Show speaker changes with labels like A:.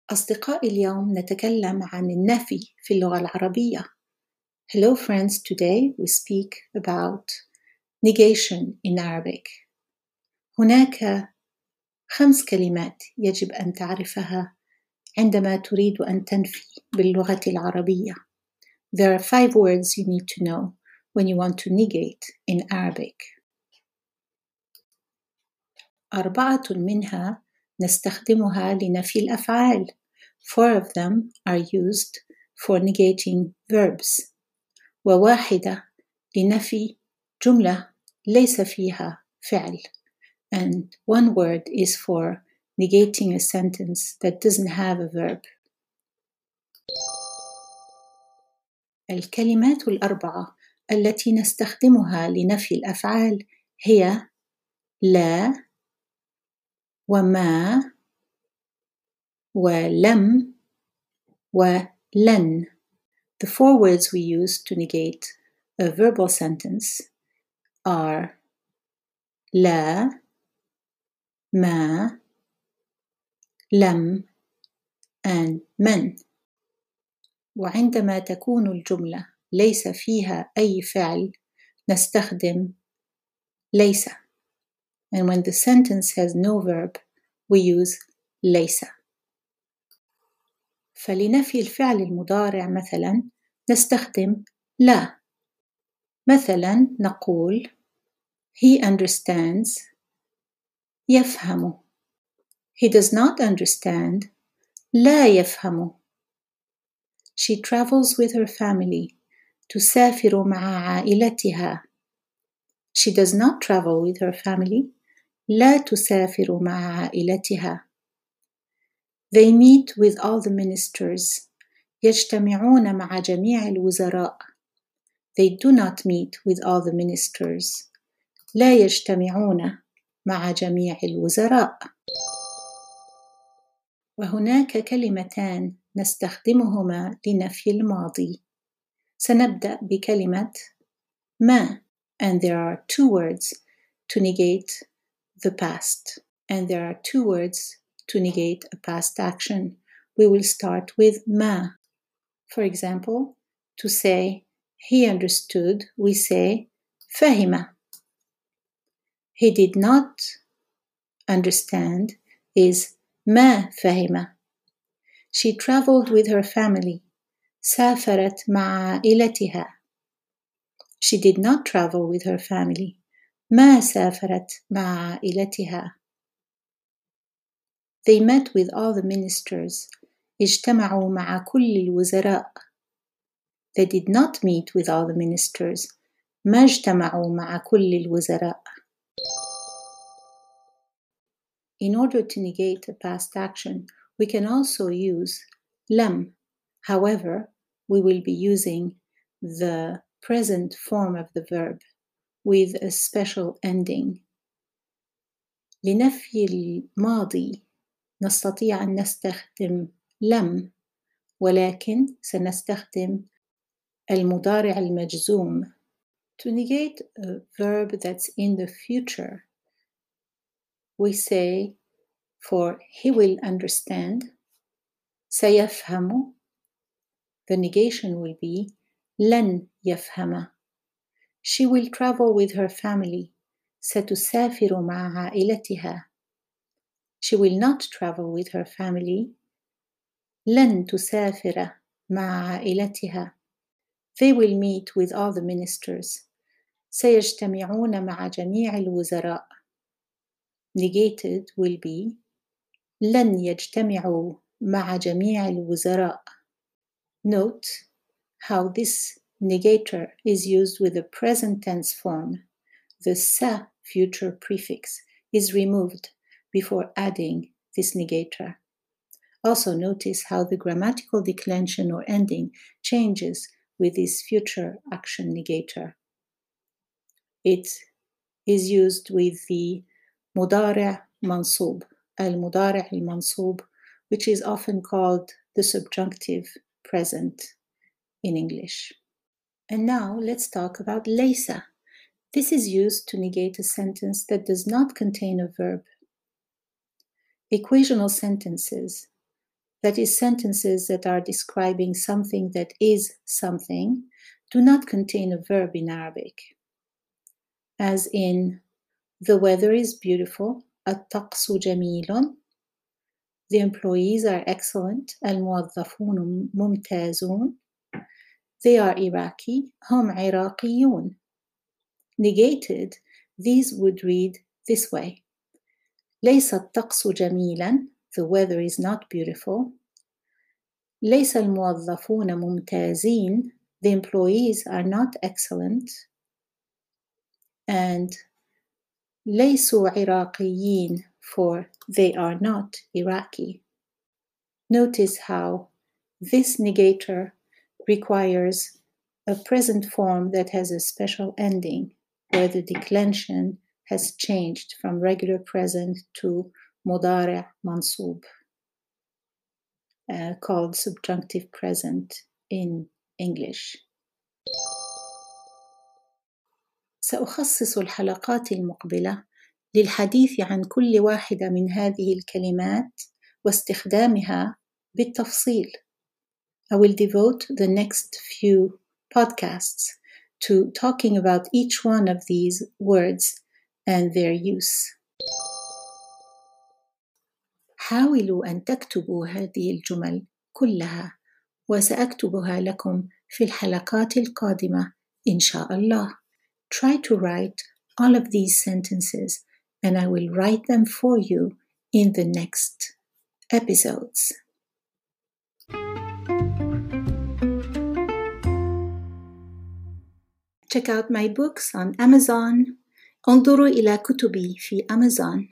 A: أصدقائي اليوم نتكلم عن النفي في اللغة العربية. Hello friends, today we speak about negation in Arabic. هناك 5 كلمات يجب أن تعرفها عندما تريد أن تنفي باللغة العربية. There are 5 words you need to know when you want to negate in Arabic. 4 منها نستخدمها لنفي الأفعال. 4 of them are used for negating verbs. وواحدة لنفي جملة ليس فيها فعل. And 1 word is for negating a sentence that doesn't have a verb. الكلمات 4 التي نستخدمها لنفي الأفعال هي لا وما ولم ولن. The 4 words we use to negate a verbal sentence are لا ما لم and من. وعندما تكون الجملة ليس فيها أي فعل نستخدم ليس. And when the sentence has no verb we use ليس. فلنفي الفعل المضارع مثلا نستخدم لا. مثلا نقول He understands يفهم. He does not understand لا يفهم. She travels with her family تسافر مع عائلتها. She does not travel with her family لا تسافر مع عائلتها. They meet with all the ministers يجتمعون مع جميع الوزراء. They do not meet with all the ministers لا يجتمعون مع جميع الوزراء. وهناك كلمتان نستخدمهما لنفي الماضي. سنبدأ بكلمة ما. And there are 2 words to negate the past. And there are 2 words to negate a past action. We will start with ما. For example, to say he understood, we say فهم. He did not understand is ما فهم. She traveled with her family. سافرت مع عائلتها. She did not travel with her family. ما سافرت مع عائلتها. They met with all the ministers. اجتمعوا مع كل الوزراء. They did not meet with all the ministers. ما اجتمعوا مع كل الوزراء. In order to negate a past action, we can also use لم. However, we will be using the present form of the verb with a special ending. لنفي الماضي نستطيع أن نستخدم لم، ولكن سنستخدم المضارع المجزوم. To negate a verb that's in the future, we say for he will understand, سيفهم. The negation will be لن يفهم. She will travel with her family. ستسافر مع عائلتها. She will not travel with her family. لن تسافر مع عائلتها. They will meet with all the ministers. سيجتمعون مع جميع الوزراء. Negated will be لن يجتمعوا مع جميع الوزراء. Note how this negator is used with the present tense form. The sa future prefix is removed before adding this negator. Also notice how the grammatical declension or ending changes with this future action negator. It is used with the مضارع منصوب, المضارع المنصوب, which is often called the subjunctive present in English. And now let's talk about ليس. This is used to negate a sentence that does not contain a verb. Equational sentences that is, sentences that are describing something that is something, do not contain a verb in Arabic. As in, the weather is beautiful, الطقس جميل. The employees are excellent, الموظفون ممتازون. They are Iraqi, هم عراقيون. Negated, these would read this way. ليس الطقس جميلا, the weather is not beautiful. ليس الموظفون ممتازين, the employees are not excellent. And ليسوا عراقيين, for they are not Iraqi. Notice how this negator requires a present form that has a special ending, where the declension has changed from regular present to مضارع منصوب, called subjunctive present in English. سأخصص الحلقات المقبلة للحديث عن كل واحدة من هذه الكلمات واستخدامها بالتفصيل. I will devote the next few podcasts to talking about each one of these words and their use. حاولوا أن تكتبوا هذه الجمل كلها وسأكتبها لكم في الحلقات القادمة إن شاء الله. Try to write all of these sentences and I will write them for you in the next episodes. Check out my books on Amazon. انظروا إلى كتبي في Amazon.